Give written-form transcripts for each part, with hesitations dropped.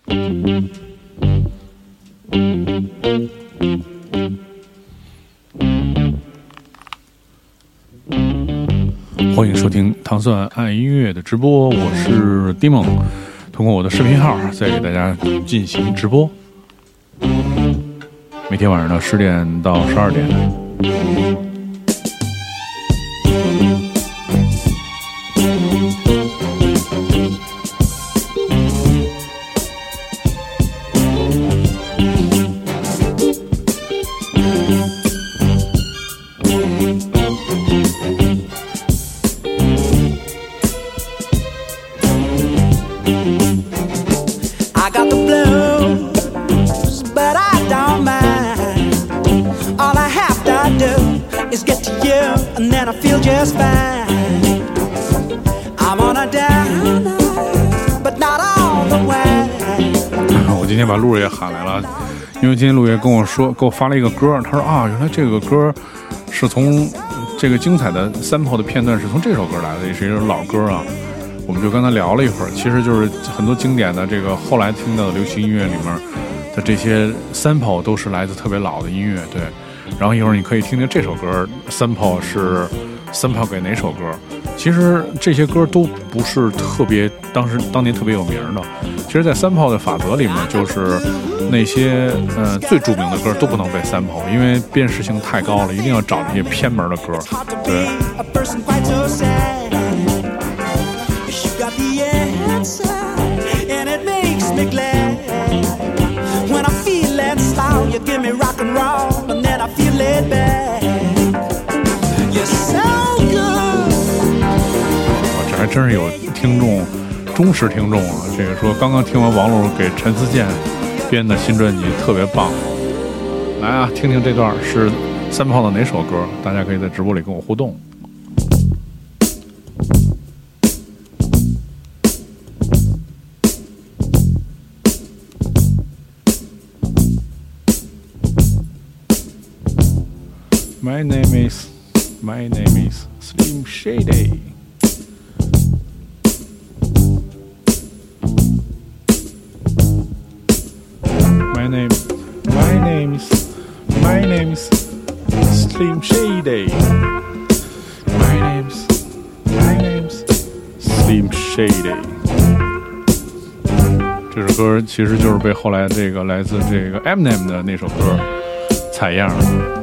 欢迎收听糖蒜爱音乐的直播，我是 Dimon， 通过我的视频号再给大家进行直播，每天晚上的10点到12点。我今天把陆爷喊来了，因为今天陆爷跟我发了一个歌，他说啊，原来这个歌是从这个精彩的sample的片段是从这首歌来的，也是一首老歌啊。我们就跟他聊了一会儿，其实就是很多经典的这个后来听到的流行音乐里面的这些 sample 都是来自特别老的音乐，对。然后一会儿你可以听听这首歌 sample 是 sample 给哪首歌。其实这些歌都不是特别当年特别有名的。其实在sample的法则里面，就是那些最著名的歌都不能被sample，因为辨识性太高了，一定要找这些偏门的歌。对。You give me rock and roll, and then I feel laid back. You're so good. 这还真是有听众，忠实听众啊！这个说刚刚听完王璐给陈思健编的新专辑，特别棒。来啊，听听这段是sample的哪首歌？大家可以在直播里跟我互动。My name is Slim Shady. My name is Slim Shady. My name's Slim Shady. 这首歌其实就是被后来这个来自这个 Eminem 的那首歌采样的。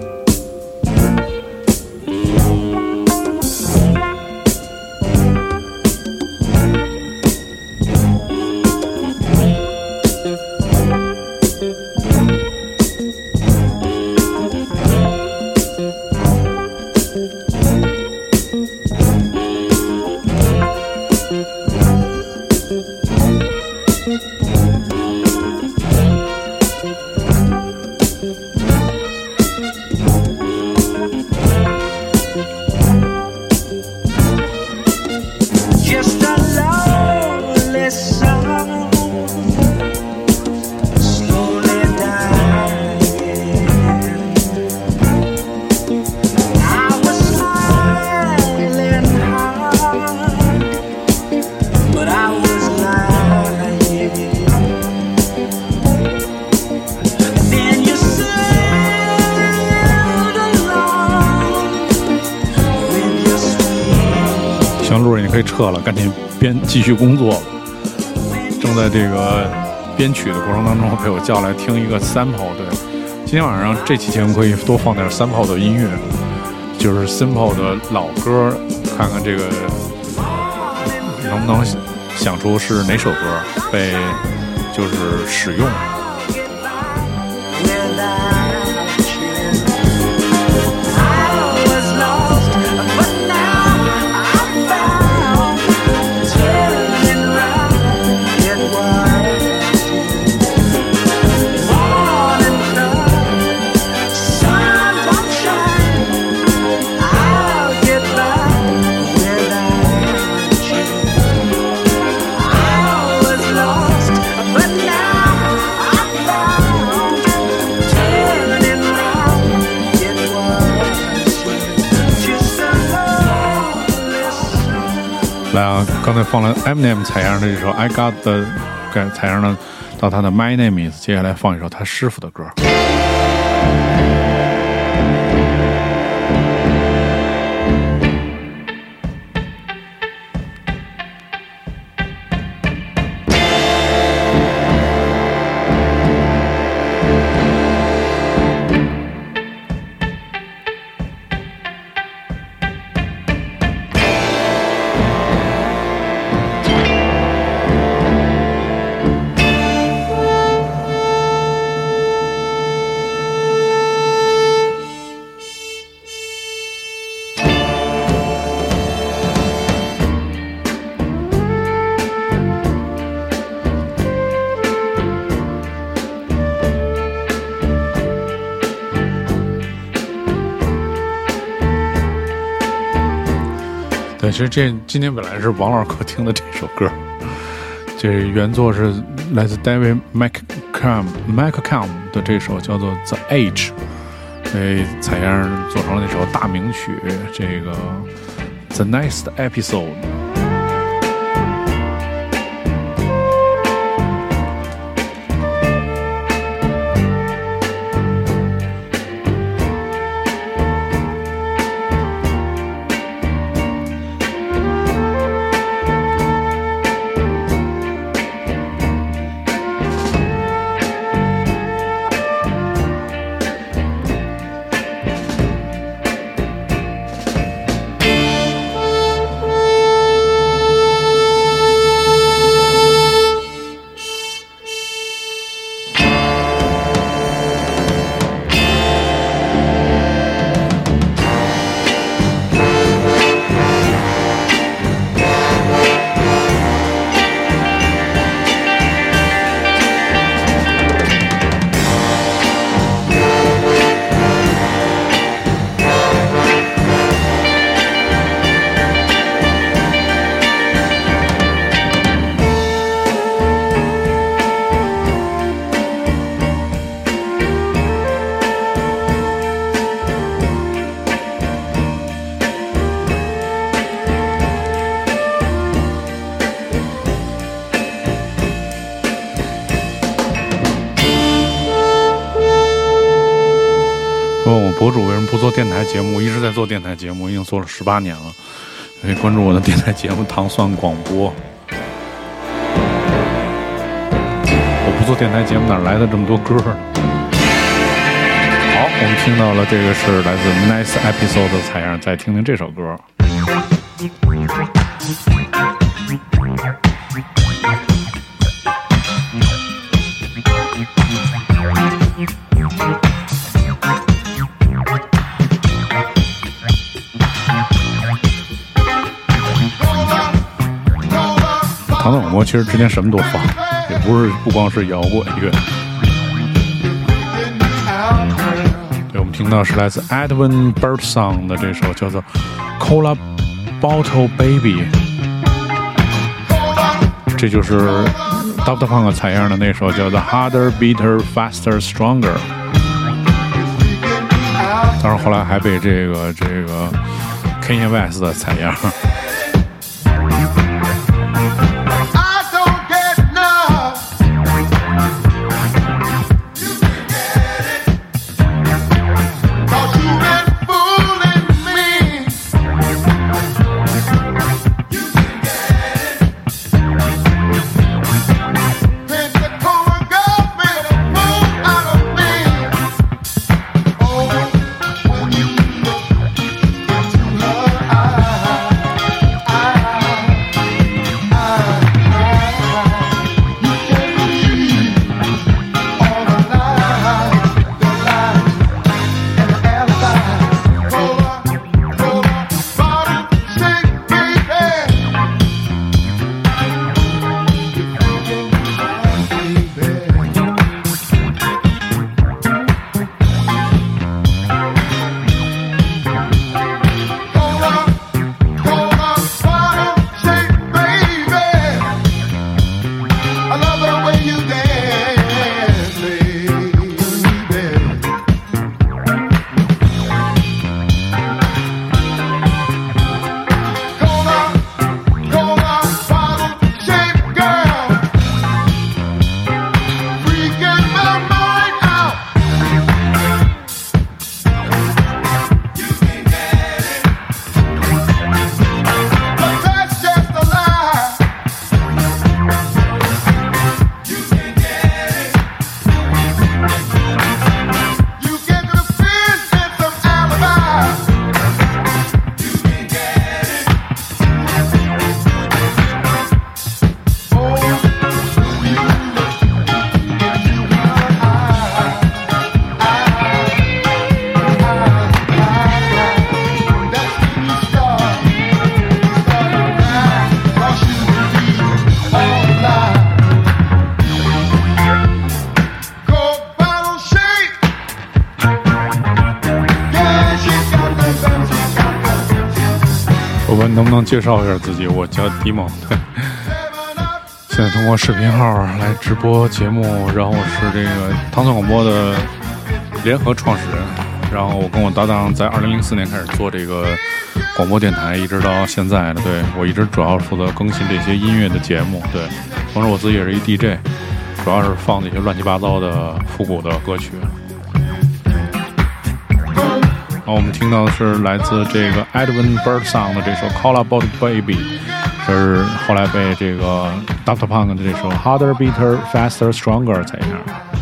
可以撤了，赶紧继续工作。正在这个编曲的过程当中，被我叫来听一个 sample。对，今天晚上这期节目可以多放点 sample 的音乐，就是 sample 的老歌，看看这个能不能想出是哪首歌被就是使用。来啊！刚才放了 Eminem 采样的这首 I Got the 采样的， 到他的 My Name Is， 接下来放一首他师傅的歌。对，其实今天本来是王老师客厅的这首歌，这原作是来自 David McCallum 的这首叫做 The Age， 采样做成了那首大名曲，这个 The Next Episode。博主为什么不做电台节目？一直在做电台节目，已经做了18年了。可以关注我的电台节目《糖蒜广播》。我不做电台节目，哪来的这么多歌呢？好，我们听到了，这个是来自 Nice Episode 的采样，再听听这首歌。糖蒜广播其实之前什么都放，也不光是摇滚乐。对，我们听到是来自 Edwin Birdsong 的这首叫做 Cola Bottle Baby， 这就是 Daft Punk 采样的那首叫做 Harder Beater Faster Stronger， 当然后来还被这个 Kanye West 的采样。 能不能介绍一下自己？我叫迪蒙，对，现在通过视频号来直播节目，然后我是这个唐宋广播的联合创始人，然后我跟我搭档在2004年开始做这个广播电台，一直到现在的。对，我一直主要负责更新这些音乐的节目，对，同时我自己也是一 DJ， 主要是放那些乱七八糟的复古的歌曲。然后我们听到的是来自这个 Edwin Birdsong 的这首 Call About Baby， 这是后来被这个 Dr. Punk 的这首 Harder Beater Faster Stronger 采样。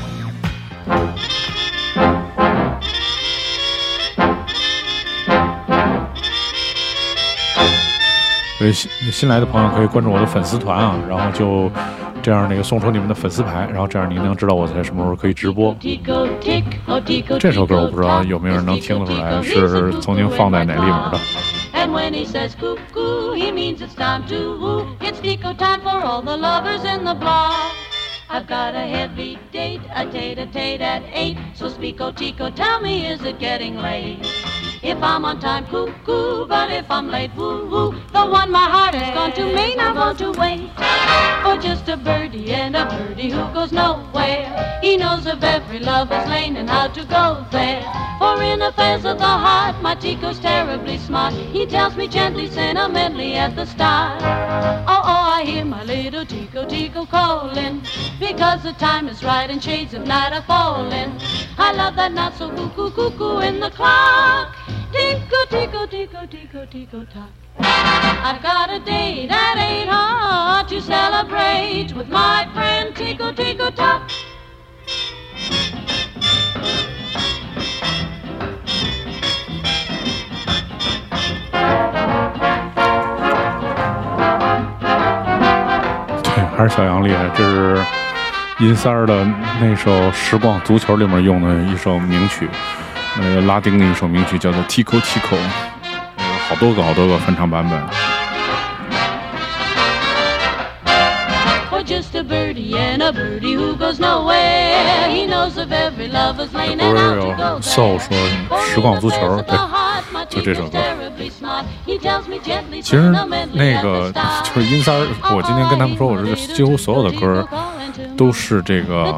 所以新来的朋友可以关注我的粉丝团啊，然后就这样送出你们的粉丝牌，然后这样你能知道我在什么时候可以直播。这首歌我不知道有没有人能听得出来是曾经放在哪里面的。And when he says cuckoo, he means it's time to woo. It's Tico time for all the lovers in the block. I've got a heavy date, a tete-a-tete at 8. So Spico Tico, tell me, is it getting late? If I'm on time, cuckoo, but if I'm late, woo-woo. The one my heart has gone to may not want to wait for just a birdie and a birdie who goes nowhere. He knows of every lover's lane and how to go there. For in affairs of the heart, my Tico's terribly smart. He tells me gently, sentimentally at the start. Oh, oh, I hear my little Tico, Tico calling, because the time is right and shades of night are falling. I love that not so cuckoo, cuckoo in the clock. Tico, Tico, Tico, Tico, Tico, tock. I've got a date at 8 to celebrate with my friend Tico, Tico, tock. 对，还是小杨厉害，这是银三儿的那首《时光足球》里面用的一首名曲。拉丁的一首名曲叫做 Tico Tico， 好多个翻唱版本。不是有 Soul 说时光足球，对，就这首歌。其实那个就是阴三儿，我今天跟他们说，我这几乎所有的歌都是这个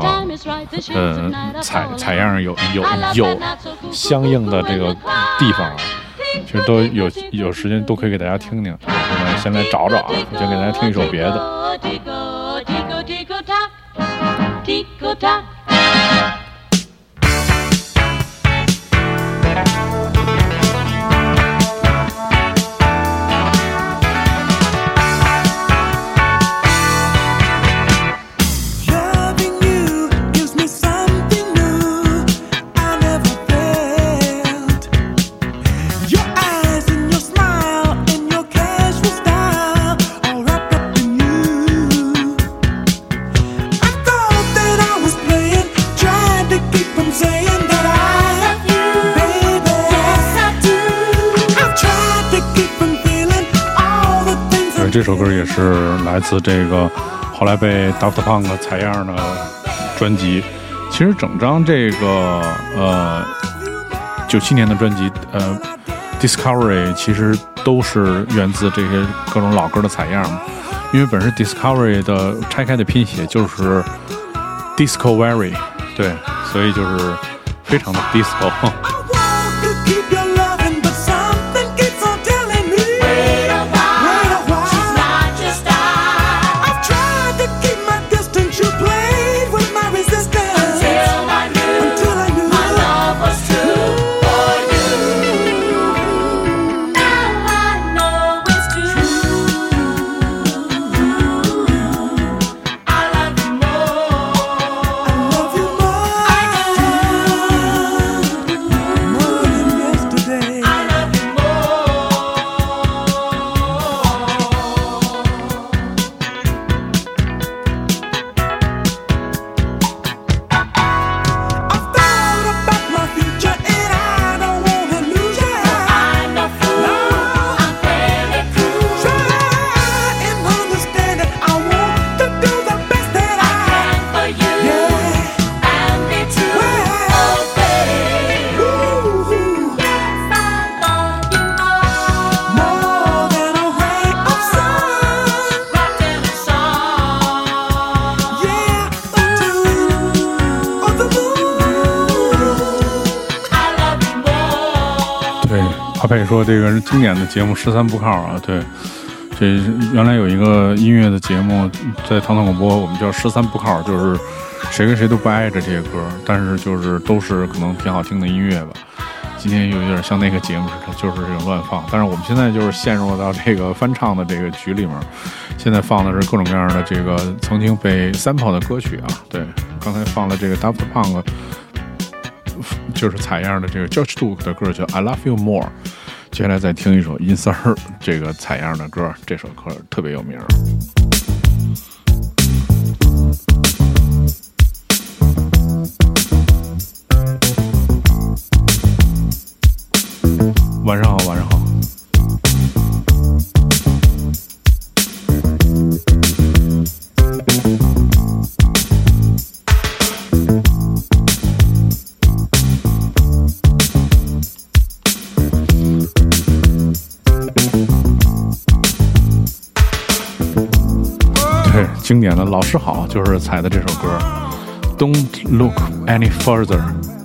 采样有相应的这个地方啊，其实都有时间都可以给大家听听。我们先来找找啊，我先给大家听一首别的。这首歌也是来自这个后来被 Dr. Punk 采样的专辑。其实整张这个97年的专辑Discovery 其实都是源自这些各种老歌的采样，因为本身 Discovery 的拆开的拼写就是 Discovery， 对，所以就是非常的 disco。 可以说这个是经典的节目13不靠啊。对，这原来有一个音乐的节目在唐唐广播，我们叫13不靠，就是谁跟谁都不挨着这些歌，但是就是都是可能挺好听的音乐吧。今天有点像那个节目似的，就是这种乱放。但是我们现在就是陷入到这个翻唱的这个局里面，现在放的是各种各样的这个曾经被 sample 的歌曲啊。对，刚才放了这个 Daft Punk 就是采样的这个 George Duke 的歌叫 I Love You More。接下来再听一首 Insert 这个采样的歌，这首歌特别有名。晚上好，晚上好。对，经典的老师好，就是采的这首歌 Don't Look Any Further。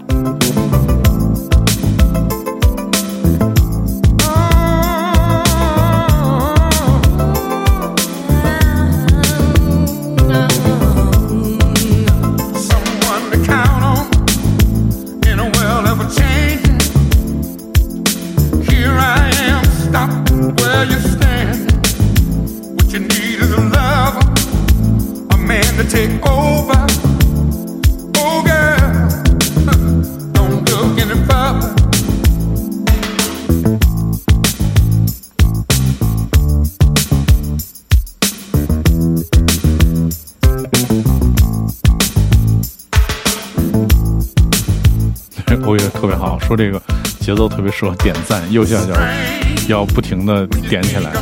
欧乐特别好，说这个节奏特别适合点赞，右下角要不停的点起来。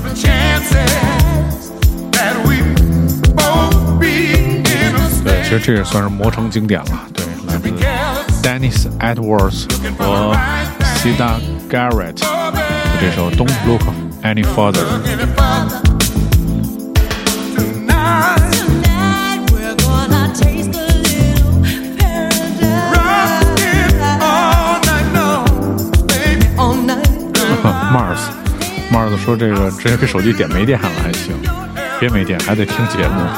对，其实这也算是磨成经典了。对，来自 Dennis Edwards 和 Sida Garrett 的这首 Don't Look Any Further。Mars 说这个直接给手机点没电了还行，别没电还得听节目。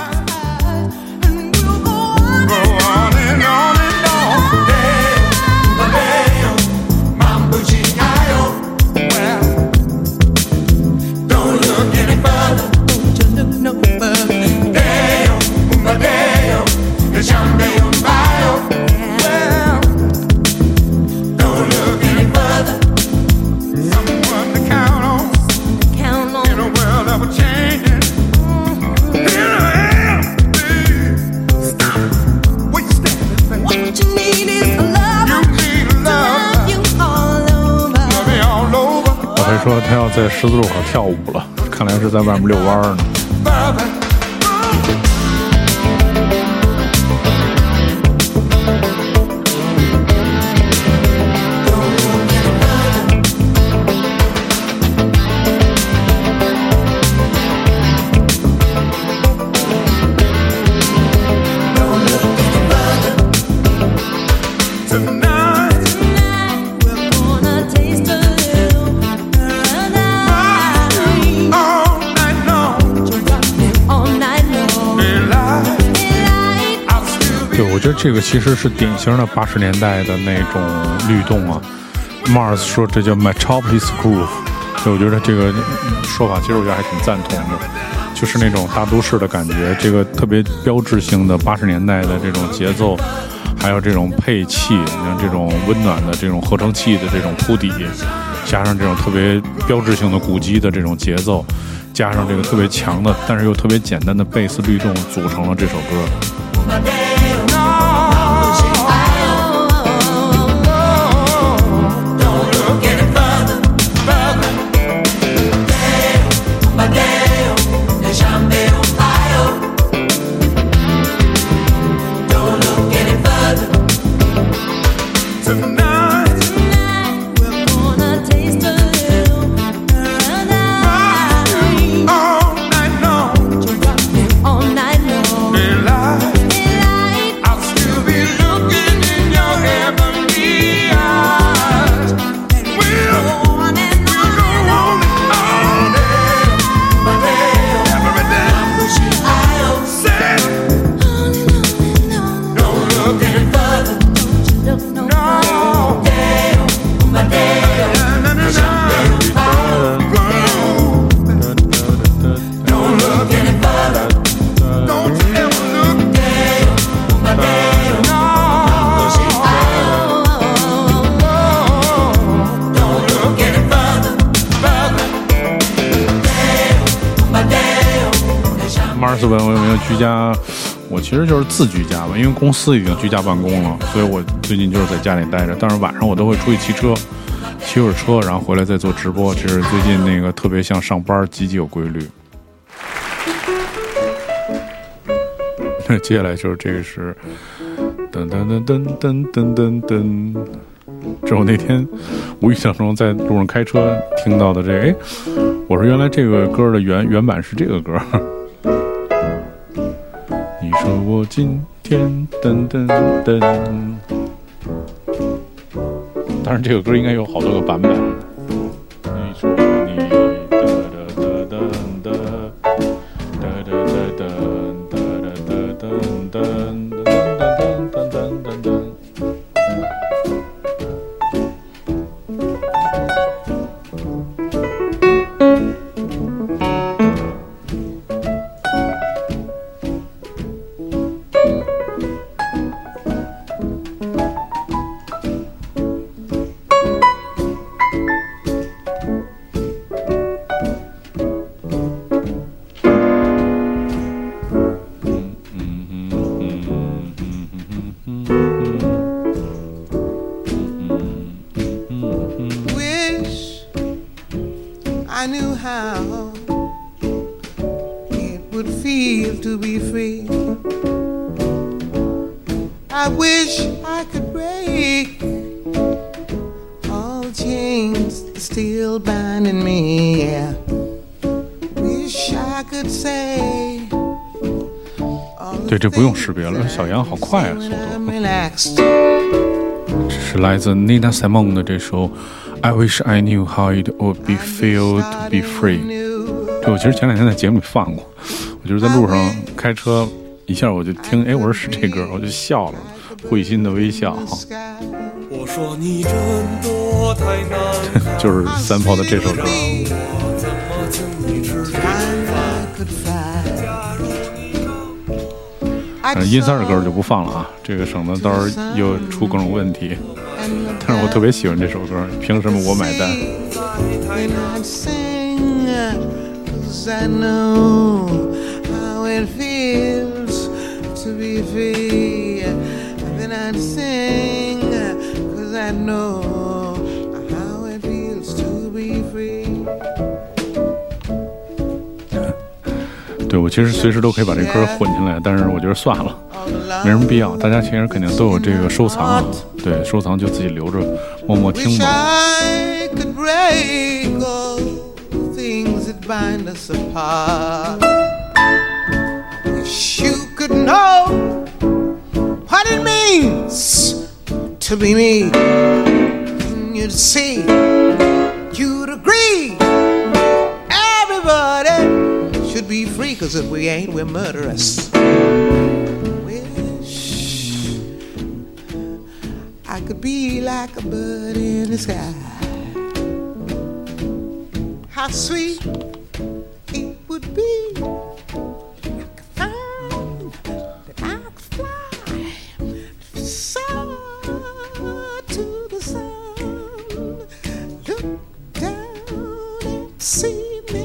说他要在十字路口跳舞了，看来是在外面遛弯呢。我觉得这个其实是典型的80年代的那种律动啊。Mars 说这叫 Metropolis Groove， 所以我觉得这个说法其实我觉得还挺赞同的，就是那种大都市的感觉，这个特别标志性的80年代的这种节奏，还有这种配器，像这种温暖的这种合成器的这种铺底，加上这种特别标志性的鼓机的这种节奏，加上这个特别强的但是又特别简单的贝斯律动，组成了这首歌。 24文为居家，我其实就是自居家吧，因为公司已经居家办公了，所以我最近就是在家里待着。但是晚上我都会出去骑车，骑会儿车，然后回来再做直播。这是最近那个特别像上班，极其有规律。那接下来就是这个是噔噔噔噔噔噔噔噔。这是我那天无意当中在路上开车听到的这个，哎，我说原来这个歌的原版是这个歌。你说我今天噔噔噔，当然这个歌应该有好多个版本。你说你哒哒哒哒哒哒哒哒哒哒哒哒哒哒。 I knew how it would feel to be free. I wish I could break all the chains that still binding me. Yeah. Wish I could say. 对，这不用识别了，小杨好快啊，速度。这是来自 Nina Simone 的这首。I wish I knew how it would be feel to be free。这我其实前两天在节目里放过，我就是在路上开车，一下我就听，哎，我说是这歌，我就笑了，会心的微笑。 我说你真多太难， 就是三炮的这首歌。阴三的歌就不放了啊，这个省得到时候又出各种问题。但是我特别喜欢这首歌，凭什么我买单对，我其实随时都可以把这歌混进来，但是我觉得算了，没什么必要。大家其实肯定都有这个收藏啊，对，收藏就自己留着，默默听吧。 Should be free, 'cause if we ain't, we're murderous. Wish I could be like a bird in the sky. How sweet it would be like a found that I could fly so to the sun. Look down and see me.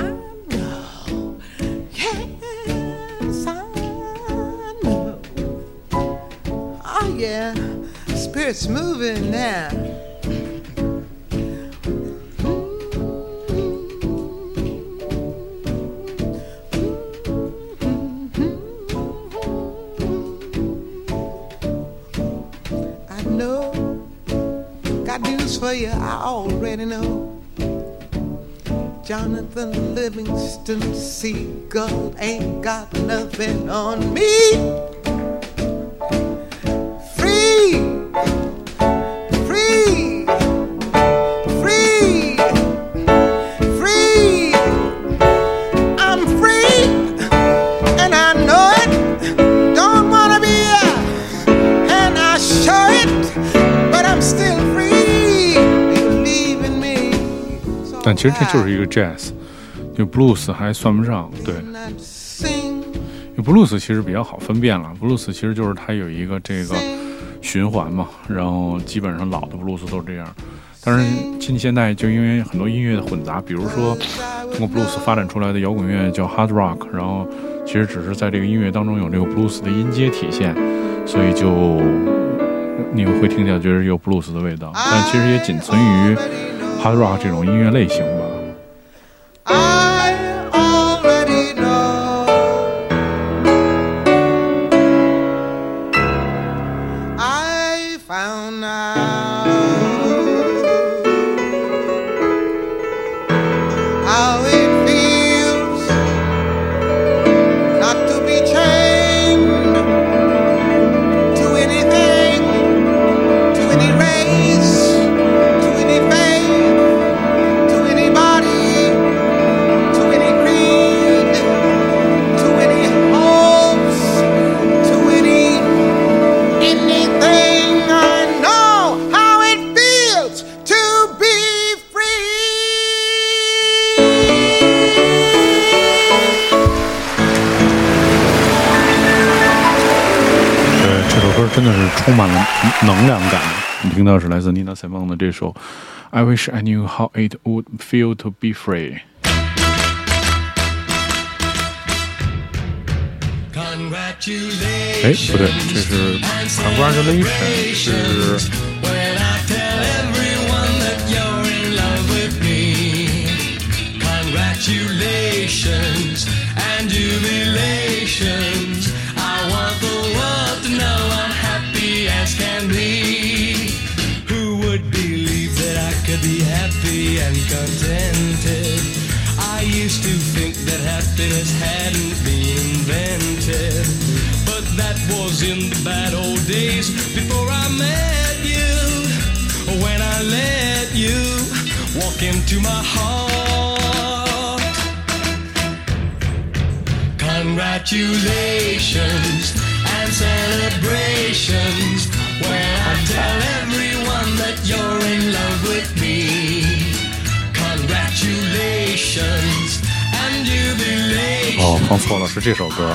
Yeah, spirit's moving now. I know, got news for you, I already know. Jonathan Livingston Seagull ain't got nothing on me. 但其实这就是一个 jazz， 就 blues 还算不上，对，因为 blues 其实比较好分辨了 ，blues 其实就是它有一个这个循环嘛，然后基本上老的 blues 都是这样， 但是近现代就因为很多音乐的混杂，比如说通过 blues 发展出来的摇滚乐叫 hard rock， 然后其实只是在这个音乐当中有这个 blues 的音阶体现，所以就你会听起来觉得有 blues 的味道，但其实也仅存于 hard rock 这种音乐类型吧。真的是充满了能量感。你听到是来自 Nina Simone 的这首 I Wish I Knew How It Would Feel to Be Free。 哎，不对，这是 Congratulations， 是Congratulations and jubilations. I want the world to know I'm happy as can be. Who would believe that I could be happy and contented? I used to think that happiness hadn't been invented, but that was in the bad old days before I met you. When I let you walk into my heart. Congratulations and celebrations when I tell everyone that you're in love with me. Congratulations and jubilations. 哦，放错了，是这首歌。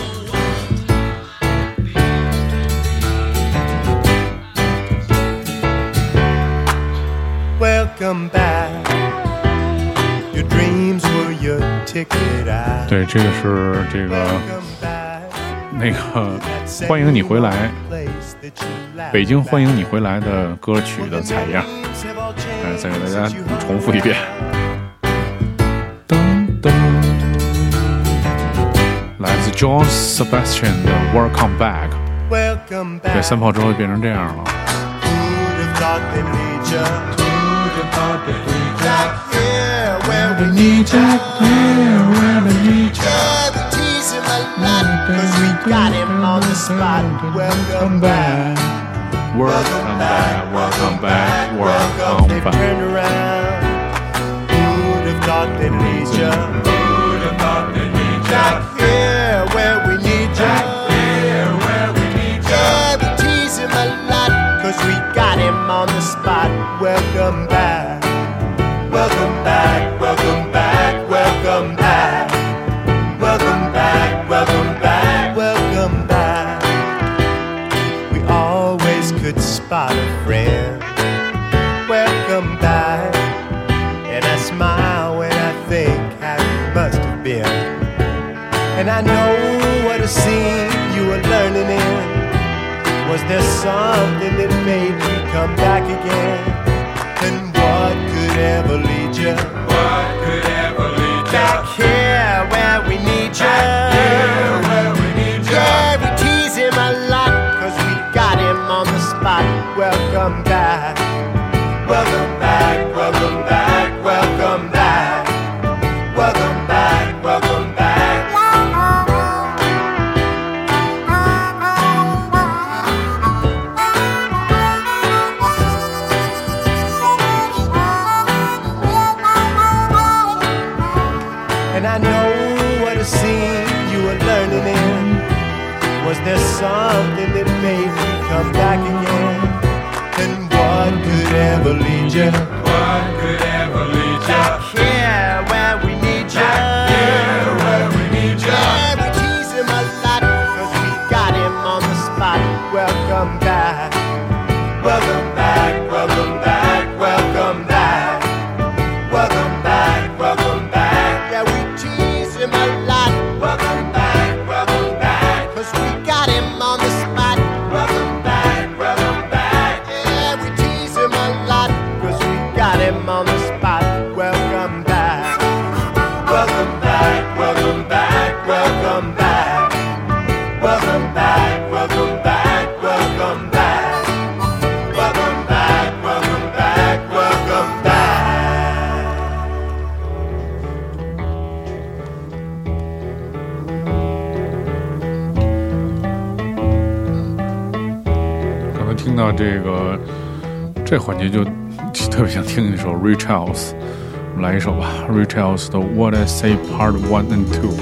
Welcome back. Your dreams were your ticket out. 对，这个是这个那个欢迎你回来，北京欢迎你回来的歌曲的采样。哎，再给大家重复一遍。噔噔，来自 John Sebastian 的 Welcome Back。对，三炮之后变成这样了。 Back here where we need you. Yeah, we tease him a lot, 'cause we got him on the spot. Welcome back. Welcome back, welcome back, welcome They back. turn around. Who'd have thought they'd need you? Who'd have thought they'd need you? Back here where we need you. Yeah, we tease him a lot, 'cause we got him on the spot. Welcome back. Welcome back, welcome back, welcome back. Welcome back, welcome back, welcome back. We always could spot a friend. Welcome back. And I smile when I think how you must have been. And I know what a scene you were learning in. Was there something that made you come back again? And what could ever lead you? What could ever lead you? Back here where we need you. Back here where we need you. Yeah, we tease him a lot, 'cause we got him on the spot. Welcome back. Welcome back, welcome back, welcome back. Welcome back, welcome back. And I know what a scene you were learning in. Was there something that made you come back again? And what could ever lead you? What could ever lead you? Back here where we need you. Back here where we need you. Yeah, we tease him a lot, 'cause we got him on the spot. Welcome back. Welcome back, welcome back, welcome him on the spot. Welcome back, welcome back. Yeah, we tease him a lot, 'cause we got him on the spot. Welcome back, welcome back, welcome back, welcome back. Welcome back, welcome back, welcome back. Welcome back, welcome back, welcome back. 刚才听到这环节就特别想听一首 Ray Charles， 来一首吧 ，Ray Charles 的 What I Say Part 1 and 2。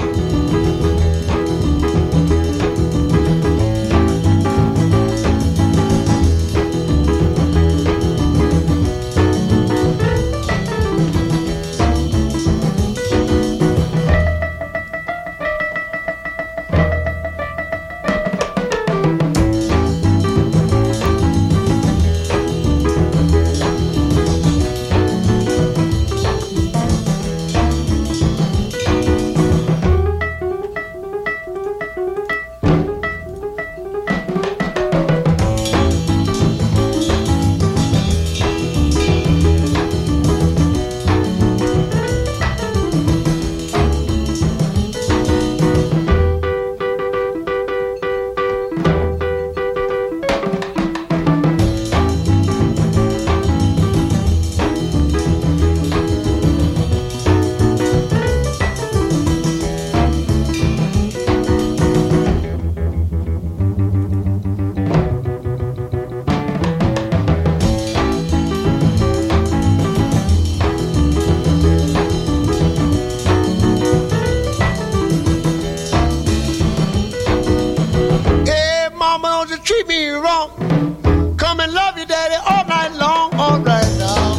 treat me wrong. Come and love you, daddy, all night long. All right now.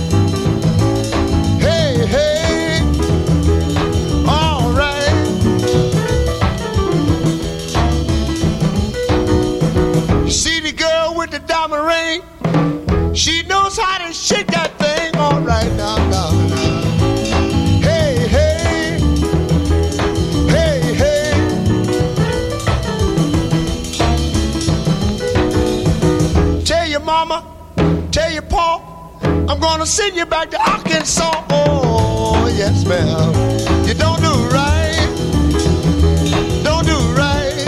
Hey, hey. All right. You see the girl with the diamond ring? She knows how to shake that thing. All right now, now, now. Hey, hey. Hey, hey. Tell your mama, tell your pa, I'm gonna send you back to Arkansas. Oh, yes, ma'am. You don't do right. Don't do right.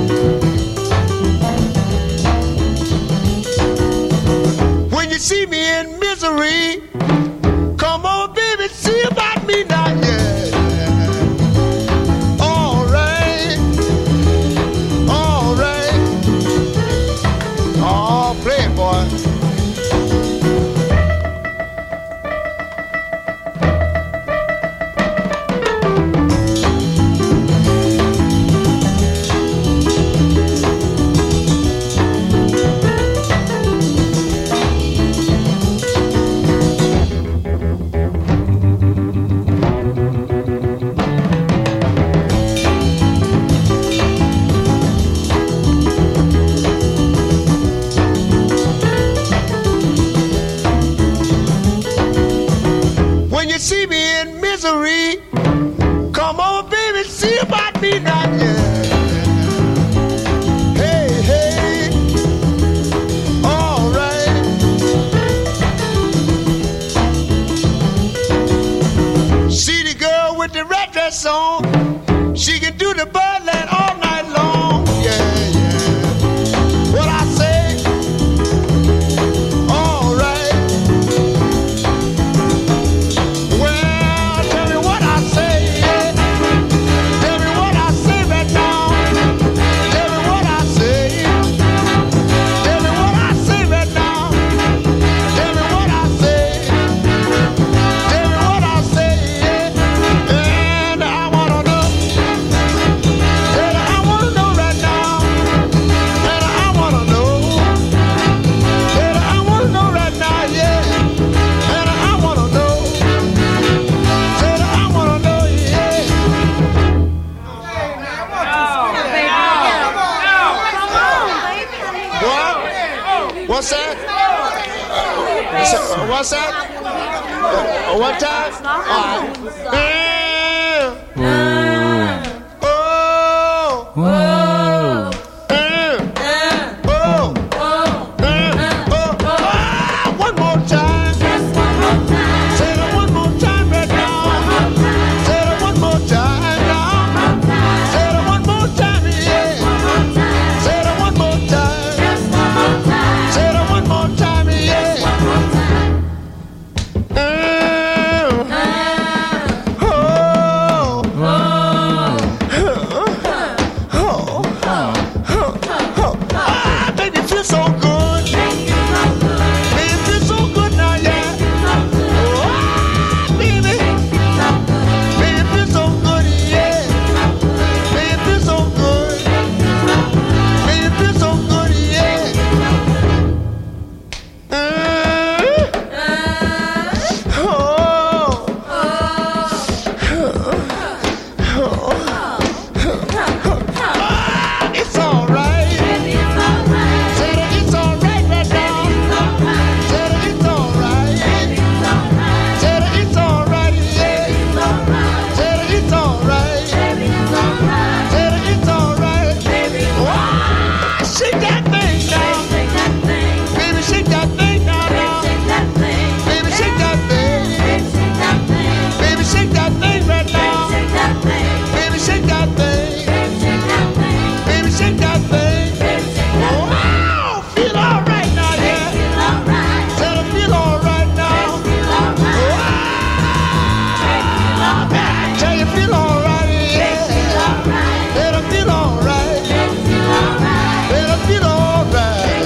When you see me in misery, come on, baby, see about me now, yeah. All right. All right. Oh, play it, boy. When you see me in misery, come on, baby, see about me now, yeah. Hey, hey, all right. See the girl with the red dress on, she can do the Birdland all night long, yeah, yeah. What I say, all right. Well, tell me what I say, yeah. Tell me what I say right now. Tell me what I say. Tell me what I say right now. Tell me what I say. Tell me what I say, yeah. And I wanna know. And I wanna know right now. And I wanna know. And I wanna know right now, yeah. And I wanna know. And I wanna know, yeah. What? What's that? What's that? What time? All right. Oh. Wow. feel so good. Baby, feel so good now, yeah. Oh, baby. Baby, feel so good, yeah. Baby, feel so good. Baby, feel so good, yeah. It's all right. Said it's all right right now. Said it's all right. Said it's all right, yeah. Said it's all right. Said it's all right. Wow, shake that thing now. Baby, shake that thing now. Baby, shake that thing. Baby, shake that thing right now. Baby, shake that thing. Baby, shake that thing. Wow, feel all right now, yeah. Tell her feel all right now. Wow, tell you feel all right, yeah. Let her feel all right. Let her feel all right.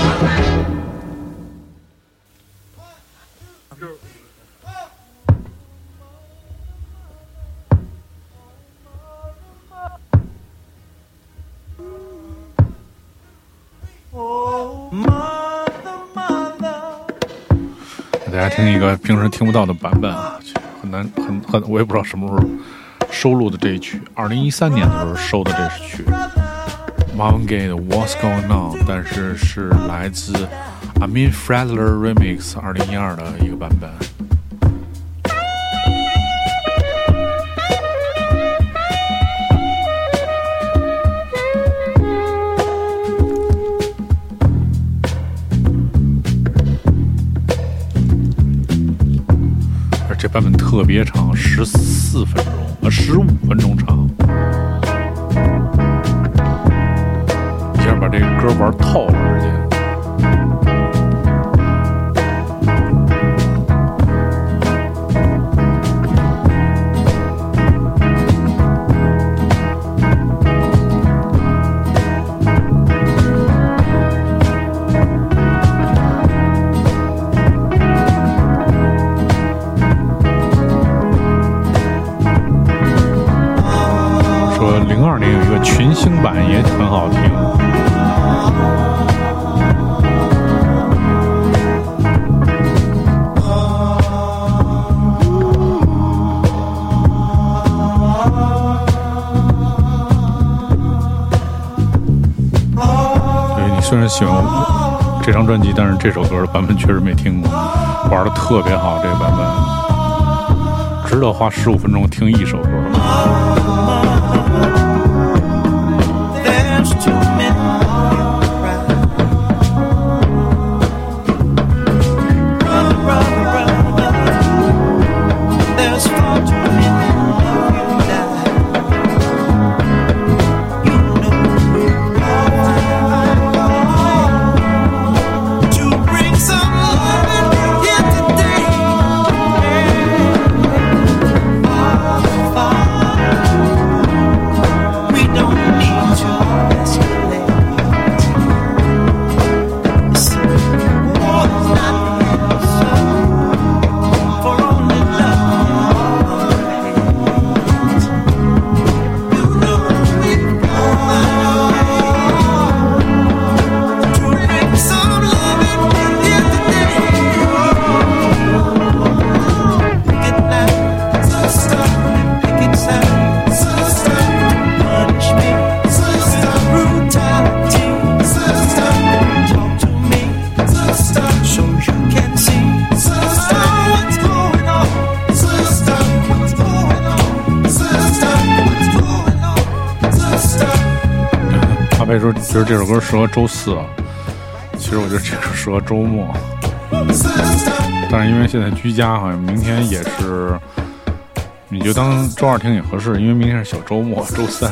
给大家听一个平时听不到的版本啊，很难，我也不知道什么时候收录的这一曲。2013年的时候收的这曲 Marvin Gaye 的 What's Going On， 但是是来自 Amin Fredler Remix 2012的一个版本。这版本特别长，14分钟，15分钟长，一下把这个歌玩透了，直接。02年有一个群星版也很好听。对，你虽然喜欢这张专辑，但是这首歌的版本确实没听过，玩的特别好，这个版本值得花15分钟听一首歌。阿贝说觉得这首歌适合周四啊，其实我觉得这首适合周末，但是因为现在居家，好像明天也是，你就当周二听也合适，因为明天是小周末，周三。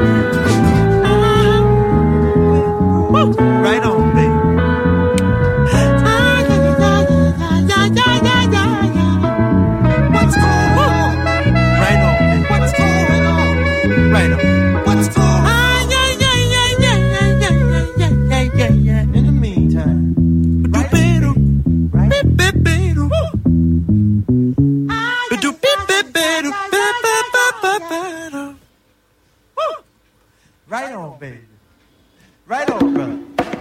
Right on, baby. What's going on? Right on, baby. What's going on? Right on. What's going on? Yeah. In the meantime, right on, baby. Right on, brother.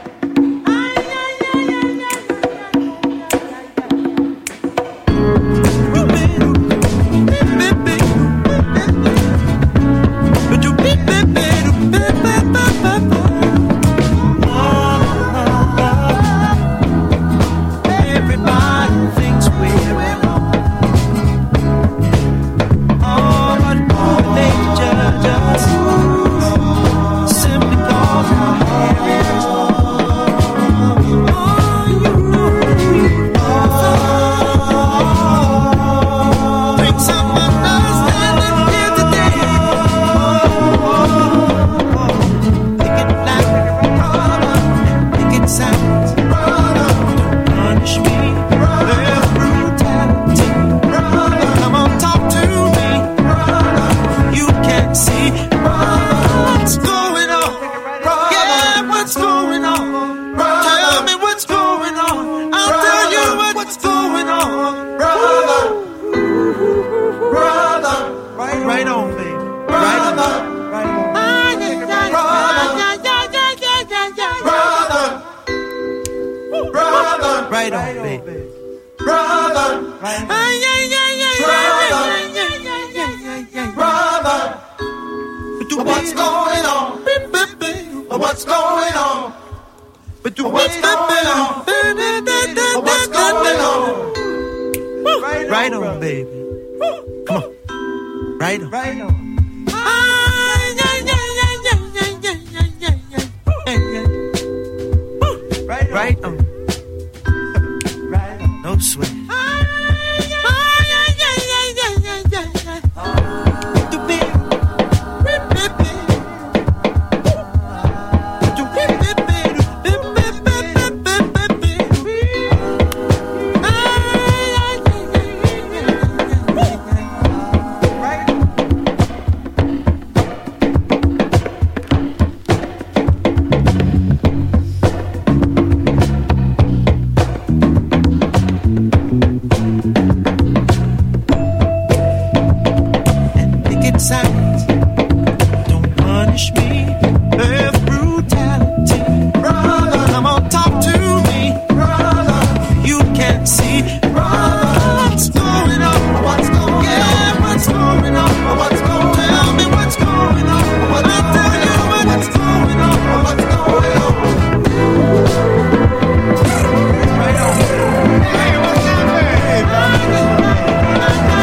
Right on, baby. Brother. Right on. Brother. What's going on? What's going on? What's going on? What's going on? Right on, baby. Come on. Right on. Right on. Right on. No sweat.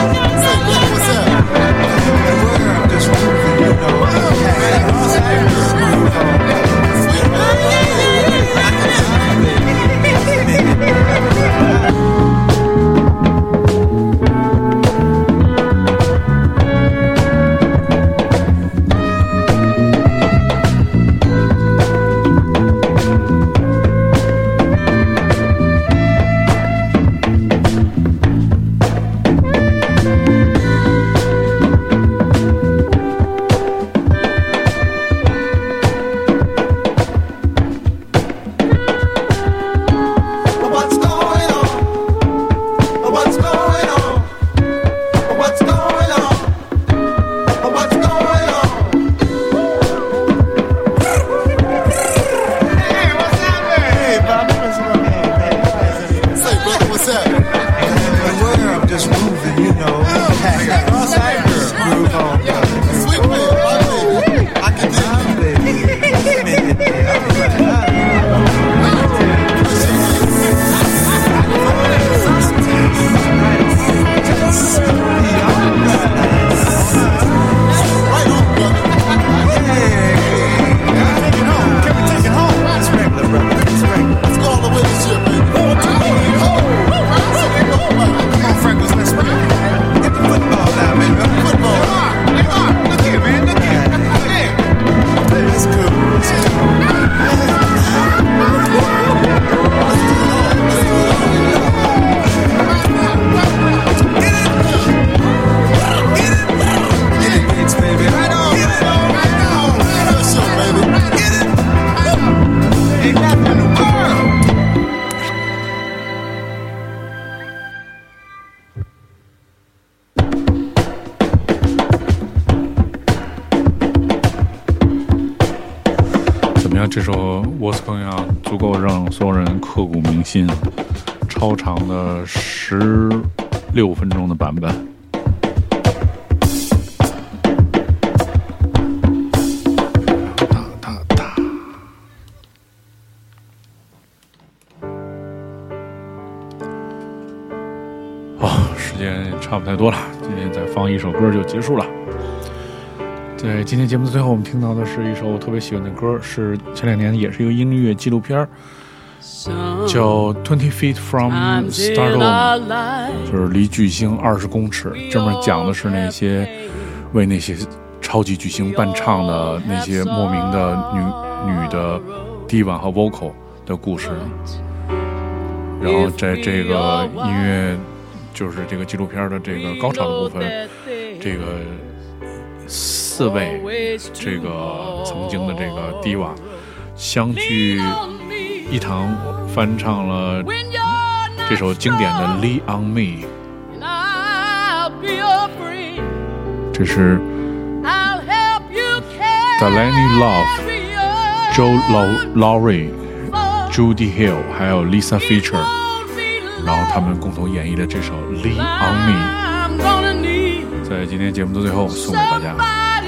What's up? 看这首《What's Going On》足够让所有人刻骨铭心，超长的16分钟的版本。时间差不太多了，今天再放一首歌就结束了。在今天节目的最后，我们听到的是一首特别喜欢的歌，是前2年也是一个音乐纪录片，叫 20 Feet from Stardom， 就是离巨星20公尺。这么讲的是那些为那些超级巨星伴唱的那些莫名的女的 diva 和 vocal 的故事。然后在这个音乐就是这个纪录片的这个高潮的部分，这个4位这个曾经的这个 diva 相聚一堂，翻唱了这首经典的 Lean on Me。 这是 Delaney Love、Joe Lowry、Judy Hill 还有 Lisa Fischer， 然后他们共同演绎的这首 Lean on Me， 在今天节目的最后送给大家。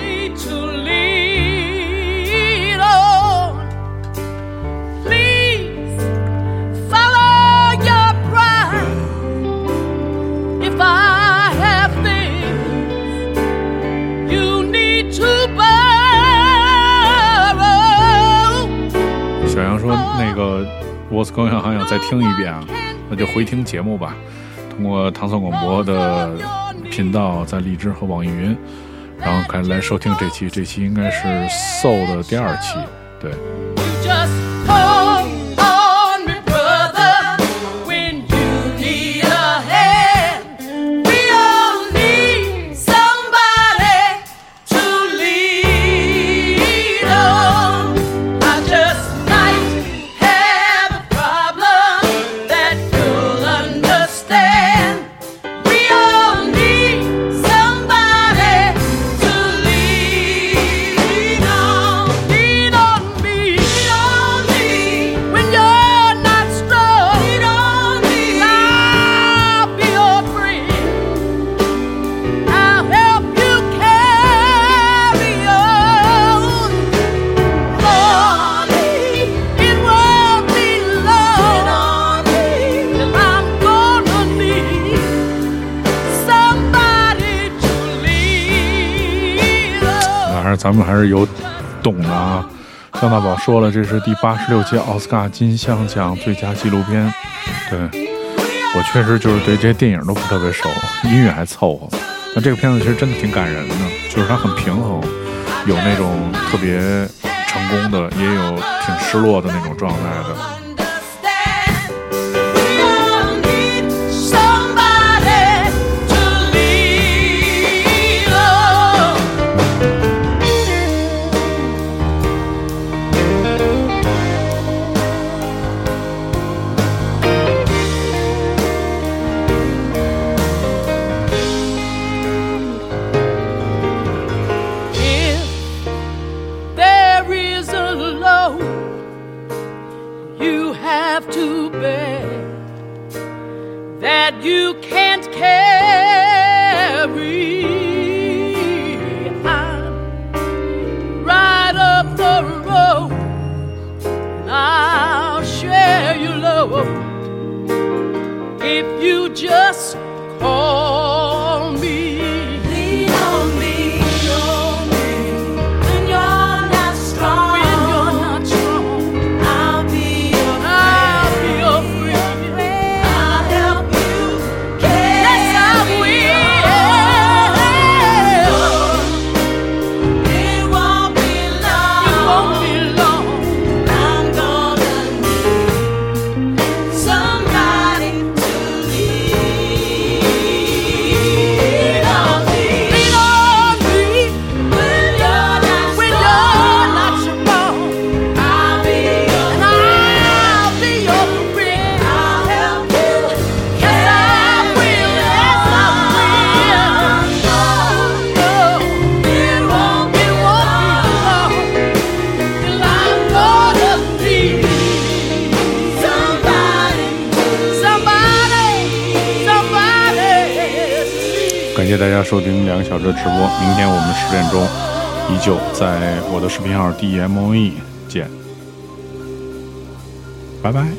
小杨说那个 What's Going On 还想再听一遍啊，那就回听节目吧，通过唐宋广播的频道，在荔枝和网易云，然后开始来收听这期应该是 Soul 的第2期，对。咱们还是有懂的啊。张大宝说了，这是第86届奥斯卡金像奖最佳纪录片。对，我确实就是对这些电影都不特别熟，音乐还凑合。那这个片子其实真的挺感人的，就是它很平衡，有那种特别成功的，也有挺失落的那种状态的。 You can't carry. I'm right up the road, and I'll share your love if you just call me. Lean on me, when you're not strong. When you're not strong, I'll be your friend. I'll help you. Yes, I 大家收听2个小时的直播，明天我们10点钟依旧在我的视频号 DMOE 见，拜拜。